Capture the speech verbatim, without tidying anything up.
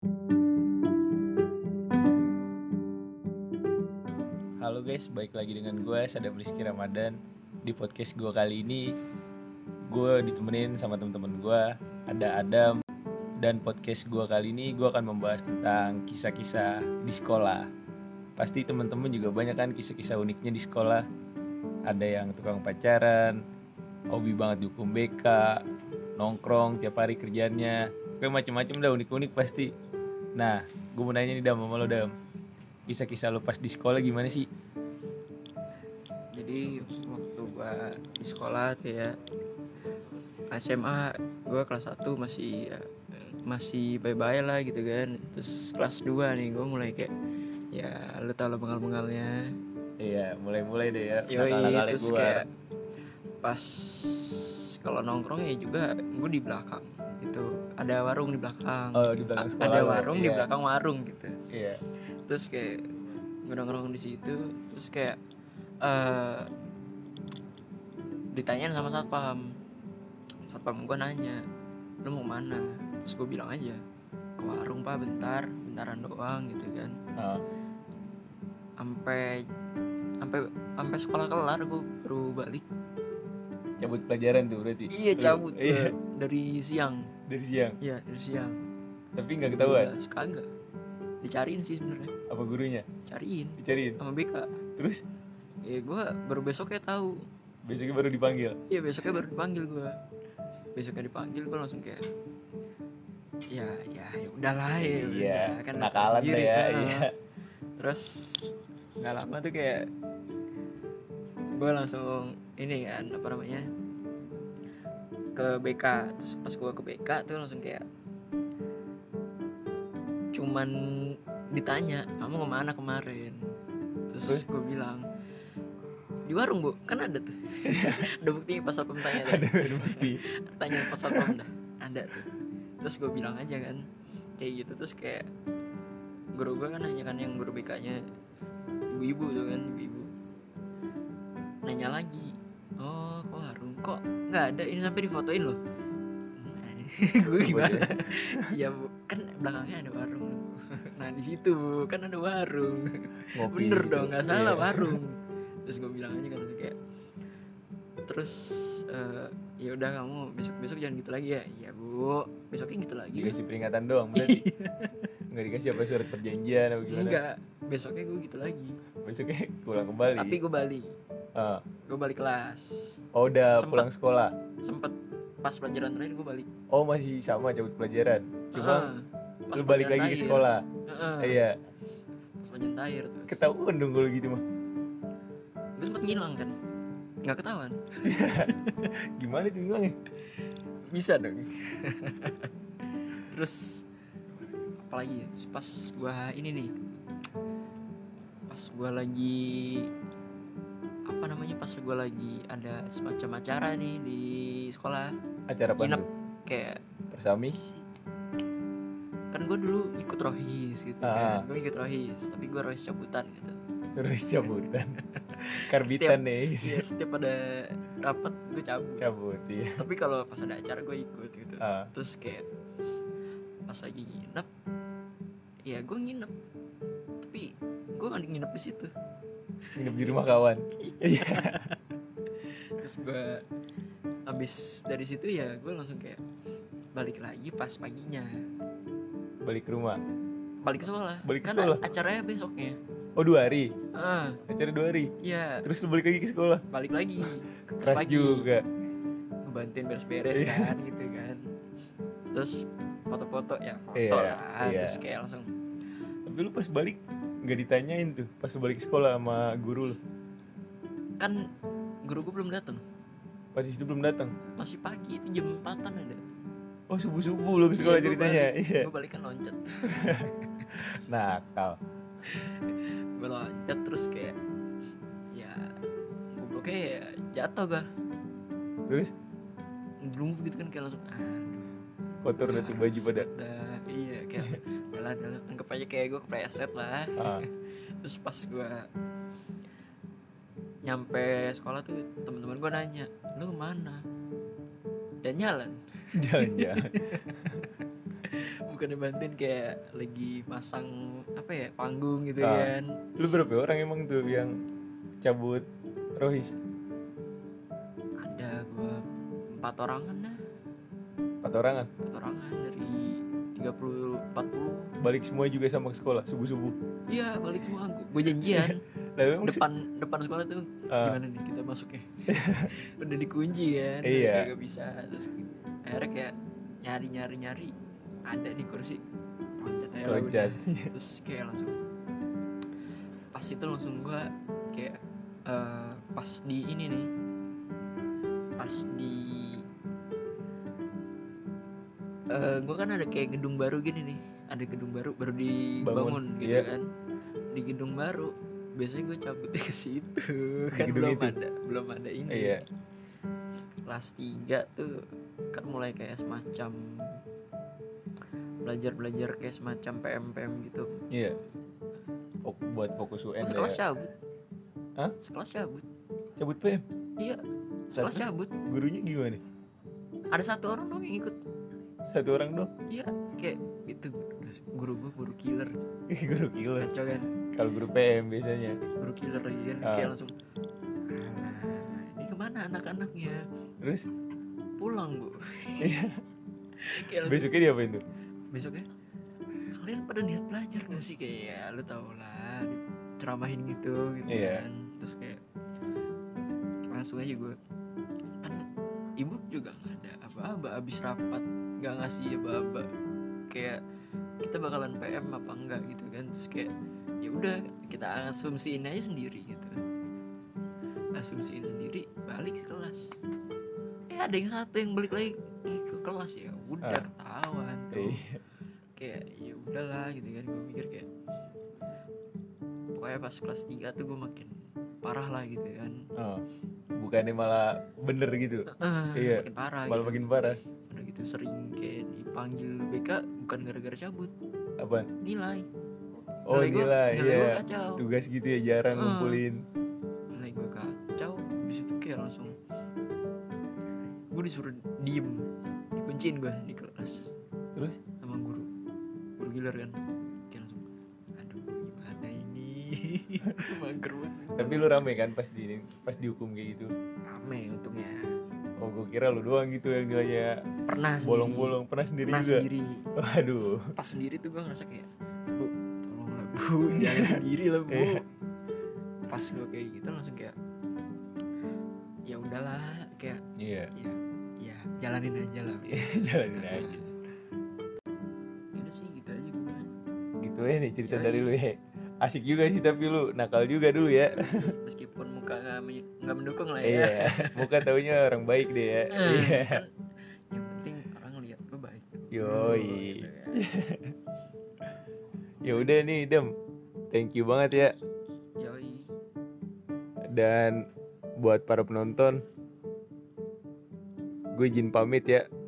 Halo guys, balik lagi dengan gue Sadam Rizky Ramadan. Di podcast gue kali ini gue ditemenin sama teman-teman gue, ada Adam. Dan podcast gue kali ini gue akan membahas tentang kisah-kisah di sekolah. Pasti teman-teman juga banyak kan kisah-kisah uniknya di sekolah. Ada yang tukang pacaran, hobi banget dihukum B K, nongkrong tiap hari kerjaannya, kayak macem-macem dah, unik-unik pasti. Nah, gue mau nanya nih Dam, sama lo Dam, kisah-kisah lo pas di sekolah gimana sih? Jadi waktu gue di sekolah tuh ya, S M A gue kelas satu masih ya, masih bye-bye lah gitu kan. Terus kelas dua nih gue mulai kayak, ya lu tau lah bengal-bengalnya. Iya, mulai-mulai deh ya Yoi, nakal-nakalnya terus gue. kayak pas kalau nongkrong ya juga gue di belakang gitu, ada warung di belakang. Oh, di belakang A- sekolah ada lo, warung iya. di belakang warung gitu. Iya. Terus kayak gue nongkrong di situ, terus kayak uh, ditanyain sama satpam. Satpam gue nanya, lu mau mana? Terus gue bilang aja, ke warung pak, bentar, bentaran doang gitu kan. Oh. Sampai sampai sampai sekolah kelar gue baru balik. Cabut pelajaran tuh berarti? Iya cabut Lu, iya. dari siang. Dari siang? Iya dari siang. Tapi gak ketahuan? Kagak. Dicariin sih sebenarnya. Apa gurunya? Cariin. Dicariin? Sama B K. Terus? Ya gue baru besoknya tahu. Besoknya baru dipanggil? Iya besoknya baru dipanggil gue. Besoknya dipanggil gue langsung kayak, ya ya ya udahlah ya. Iya, udah, kan kenakalan deh ya. kan. Iya. Terus nggak lama tuh kayak gue langsung ini kan apa namanya ke B K. Terus pas gue ke B K tuh langsung kayak cuman ditanya, kamu kemana kemarin? Terus, Terus? gue bilang di warung bu, kan ada tuh. Ada buktinya pas satpam tanya. Ada bukti. Tanya pas satpam dah, ada tuh. Terus gue bilang aja kan kayak gitu. Terus kayak guru gue kan nanya kan, yang guru B K-nya ibu-ibu tuh kan, ibu-ibu nanya lagi, oh kok warung kok nggak ada, ini sampai difotoin loh. Gue gimana? Ya bu, kan belakangnya ada warung. Nah di situ bu, kan ada warung. Ngopi bener gitu. Dong, nggak salah, iya. Warung. Terus gue bilang aja kan kayak, terus uh, ya udah kamu besok besok jangan gitu lagi ya. Iya bu, besoknya gitu lagi. Dikasih peringatan doang berarti. Nggak dikasih apa surat perjanjian apa gimana? Enggak, besoknya gue gitu lagi. Besoknya pulang kembali. Tapi gue balik. Uh. Gue balik kelas. Oh udah sempet, pulang sekolah. Sempet pas pelajaran terakhir gue balik. Oh masih sama cabut pelajaran. Cuma uh, lu balik lagi terakhir. Ke sekolah. Uh-uh. Iya. Pas pelajaran terakhir terus. Ketahuan dong kalau gitu mah. Gue sempet ngilang kan. Nggak ketahuan. Gimana tuh ngilangnya? Bisa dong. Terus apalagi ya? Terus pas gue ini nih, pas gue lagi apa namanya, pas gue lagi ada semacam acara nih di sekolah. Acara apa tuh? Kayak Persamis. Kan gue dulu ikut rohis gitu ah. kan. Gue ikut rohis, tapi gue rohis cabutan gitu. Rohis cabutan. Karbitan setiap, nih. Iya, setiap ada rapat gue cabut. Cabut iya. Tapi kalau pas ada acara gue ikut gitu. Ah. Terus kayak pas lagi nginep, ya gue nginep. Tapi gue nggak nginep di situ. Nginep di rumah kawan. Iya. Terus gue abis dari situ ya gue langsung kayak balik lagi pas paginya. Balik ke rumah. Balik ke sekolah. Balik ke kan sekolah. Acaranya besoknya. Oh dua hari. Ah. Acara dua hari. Iya. Terus lu balik lagi ke sekolah. Balik lagi. Keras pagi. Juga. Ngebantuin beres-beres kan gitu kan. Terus foto-foto ya foto iya, lah. Iya. Terus kayak langsung. Tapi lu pas balik nggak ditanyain tuh pas lu balik ke sekolah sama guru lu? Kan guru gue belum datang. Pas itu belum datang. Masih pagi, itu jam empatan ada. Oh subuh-subuh lu ke sekolah iya, ceritanya. Balik, iya. Gue balik kan loncat. Nakal. Gue loncat terus kayak ya gobloknya ya jatuh gak. Terus? Belum begitu kan kayak langsung aduh. Kotor udah tuh baju pada. Dah, iya kayak adalah adalah anggap aja kayak gue kepleset lah. Ah. Terus pas gue nyampe sekolah tuh teman-teman gue nanya, lu kemana? Dan jalan. Jalan-jalan. bukannya bantuin kayak lagi masang apa ya panggung gitu Ah. kan. Lu berapa orang emang tuh yang cabut rohis? Ada gua empat orangan dah, Empat orangan. empat orangan dari tiga puluh empat puluh. Balik semua juga sama ke sekolah subuh-subuh. Iya balik semua, gue janjian Lah emang sih- depan depan sekolah tuh Ah. gimana nih kita masuknya. Udah dikunci kan, Iya. kayak gak bisa. Terus akhirnya kayak nyari nyari nyari ada di kursi, loncat aja lah Loncat. udah. Terus kayak langsung pas itu langsung gue kayak eh, pas di ini nih, pas di eh gue kan ada kayak gedung baru gini nih, ada gedung baru baru dibangun Bangun, gitu iya. kan. Di gedung baru biasanya gue cabutnya ke situ Di kan, gedung belum itu? ada belum ada ini. Iya. Kelas tiga tuh kan mulai kayak semacam belajar-belajar kayak semacam P M P M gitu. Iya. Fok- buat fokus U N Oh, ya. sekelas cabut. Hah? Sekelas cabut. Cabut P M. Iya, sekelas Terus cabut. gurunya gimana? Ada satu orang doang yang ikut. Satu orang dong. Iya, kayak itu guru gue guru killer. Guru killer. Kacau kan? Kalau guru P M biasanya. Guru killer lagi kan, Ah. kayak langsung "Ah, ini kemana anak-anaknya?" Terus Pulang bu. Iya. Kayak langsung, besoknya diapain tuh? besoknya kalian pada niat belajar gak sih, kayak ya lu tau lah diceramahin gitu gitu Iya. kan. Terus kayak langsung aja gue kan, ibu juga nggak ada apa-apa abis rapat, nggak ngasih apa-apa, kayak kita bakalan P M apa enggak gitu kan. Terus kayak ya udah kita asumsiin aja sendiri gitu, asumsiin sendiri, balik ke kelas. Eh ada yang satu yang balik lagi ke kelas, ya udah Ah. ketahuan tuh. Iya. Kayak ya udahlah gitu kan. Gue mikir kayak pokoknya pas kelas tiga tuh gue makin parah lah gitu kan. Oh. Bukannya malah bener gitu. Ah, Iya. makin parah Malah gitu. makin parah. Udah gitu sering kayak dipanggil B K bukan gara-gara cabut, Apaan? nilai. Oh Nilai gua- nilai, nilai gua iya. kacau. Tugas gitu ya jarang Ah. ngumpulin. Nilai gue kacau. Habis itu kayak langsung gue disuruh diem, dikunciin gue di kelas Terus? sama guru guru giler kan. Kayak langsung aduh gimana ini. Mager banget. Tapi lu rame kan pas di pas dihukum kayak gitu? Rame untungnya. Oh gue kira lu doang gitu yang nilainya Pernah sendiri. bolong-bolong. Pernah sendiri Pernah juga? sendiri. Waduh. Pas sendiri tuh gue ngerasa kayak, bu tolonglah bu, jangan sendiri lah bu. Iya. Pas gue kayak gitu langsung kayak ya udahlah, kayak Iya. ya ya jalanin aja lah. Jalanin aja. Ya udah sih gitu aja gue. Gitu ya nih cerita Yoi. dari lu ya. Asik juga sih tapi lu nakal juga dulu ya. Meskipun muka nggak men- nggak mendukung lah ya. Iya. Muka taunya orang baik deh ya. Eh, Iya. kan yang penting orang lihat gue baik. Yoi. Gitu kan. Ya udah nih Dem. Thank you banget ya. Yoi. Dan buat para penonton, gue izin pamit ya.